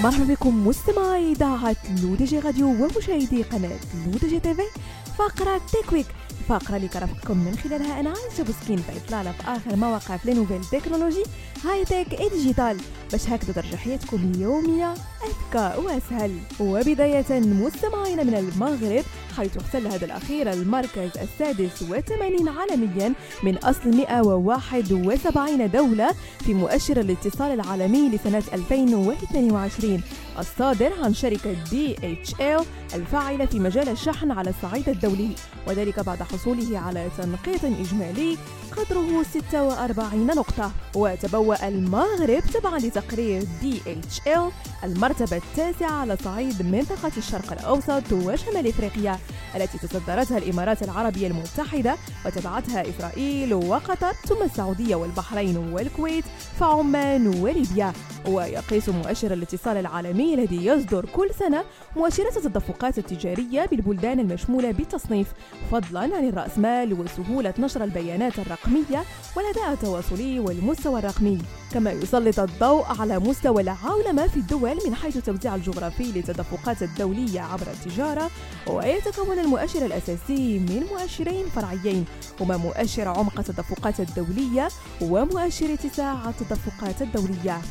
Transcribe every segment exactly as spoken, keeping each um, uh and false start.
مرحبا بكم مستمعي إذاعة لودجي راديو ومشاهدي قناة لودجي تيفي. فقرة تيكويك، فقرة اللي كرفقكم من خلالها أنا عايشة بوسكين بإطلالة في آخر مواقع في لنوفيل تكنولوجي هاي تك اي ديجيتال باش هكذا ترجع حياتكم اليومية أذكى وأسهل. وبداية مستمعين من المغرب، حيث احتل هذا الأخير المركز السادس والثمانين عالميا من أصل مئة وواحد وسبعين دولة في مؤشر الاتصال العالمي لسنة ألفين واثنين وعشرين الصادر عن شركة دي إتش إل الفاعلة في مجال الشحن على الصعيد الدولي، وذلك بعد حصوله على تنقيط إجمالي قدره ستة وأربعين نقطة. وتبوأ المغرب تبعا لتقرير دي إتش إل المرتبة التاسعة على صعيد منطقة الشرق الأوسط وشمال إفريقيا التي تصدرتها الإمارات العربية المتحدة وتبعتها إسرائيل وقطر، ثم السعودية والبحرين والكويت فعمان وليبيا. ويقيس مؤشر الاتصال العالمي الذي يصدر كل سنة مؤشرات التدفقات التجارية بالبلدان المشمولة بالتصنيف، فضلا عن الرأسمال وسهولة نشر البيانات الرقمية والأداء التواصلي والمستوى الرقمي. كما يسلط الضوء على مستوى العولمة في الدول من حيث التوزيع الجغرافي للتدفقات الدولية عبر التجارة. ويتكون المؤشر الأساسي من مؤشرين فرعيين هما مؤشر عمق التدفقات الدولية ومؤشر اتساع التدفقات الدولية.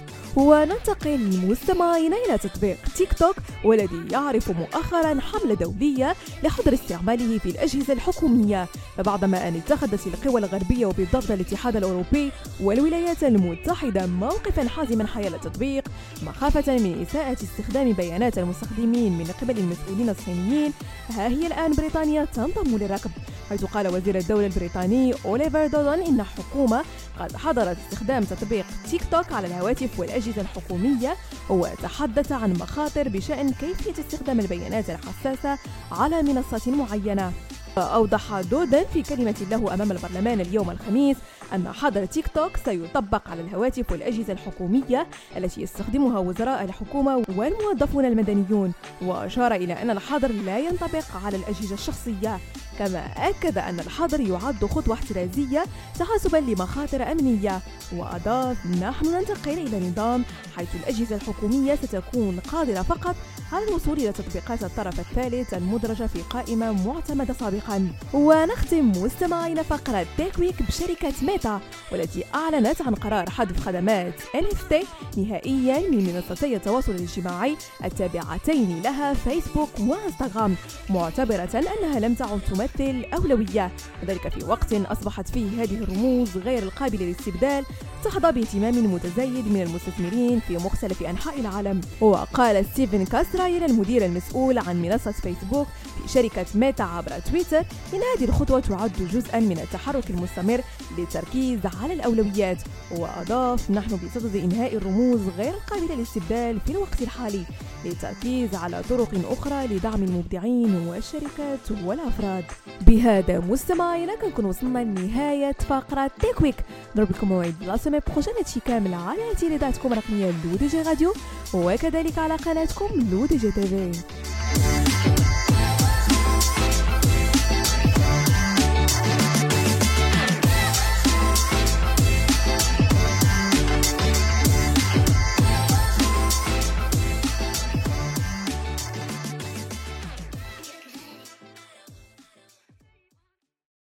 وننتقل مستمعين إلى تطبيق تيك توك، والذي يعرف مؤخرا حملة دولية لحظر استعماله في الأجهزة الحكومية، فبعدما أن اتخذت القوى الغربية وبالضبط الاتحاد الأوروبي والولايات المتحدة موقفا حازما حيال التطبيق مخافة من إساءة استخدام بيانات المستخدمين من قبل المسؤولين الصينيين، ها هي الآن بريطانيا تنضم للركب، حيث قال وزير الدولة البريطاني أوليفر دودن إن الحكومة قد حظرت استخدام تطبيق تيك توك على الهواتف والأجهزة الحكومية، وتحدث عن مخاطر بشأن كيفية استخدام البيانات الحساسة على منصات معينة. أوضح دودن في كلمة له أمام البرلمان اليوم الخميس أن حظر تيك توك سيطبق على الهواتف والأجهزة الحكومية التي يستخدمها وزراء الحكومة والموظفون المدنيون، وأشار إلى أن الحظر لا ينطبق على الأجهزة الشخصية. كما أكد أن الحظر يعد خطوة احترازية تحسبا لمخاطر أمنية، وأضاف: نحن ننتقل إلى نظام حيث الأجهزة الحكومية ستكون قادرة فقط على الوصول إلى تطبيقات الطرف الثالث المدرجة في قائمة معتمدة سابقا. ونختم مستمعين فقرة تيكويك بشركة ميتا، والتي أعلنت عن قرار حذف خدمات إن إف تي نهائيا من منصتي التواصل الاجتماعي التابعتين لها فيسبوك وانستغرام، معتبرة أنها لم تعد تمثل أولوية، وذلك في وقت أصبحت فيه هذه الرموز غير القابلة للاستبدال تحظى باهتمام متزايد من المستثمرين في مختلف أنحاء العالم. وقال ستيفن كاسرايل المدير المسؤول عن منصة فيسبوك في شركة ميتا عبر تويتر إن هذه الخطوة تعد جزءا من التحرك المستمر للتركيز على الأولويات، وأضاف: نحن بصدد إنهاء الرموز غير القابلة للاستبدال في الوقت الحالي للتركيز على طرق أخرى لدعم المبدعين والشركات والأفراد. بهذا مستمعينا كنكون وصلنا لنهاية فقرة تيكويك. نضرب لكم موعد لا سيمين بروجين هادشي كامل على تيليداتكم الرقمية لودجي راديو وكذلك على قناتكم لودجي تيفي.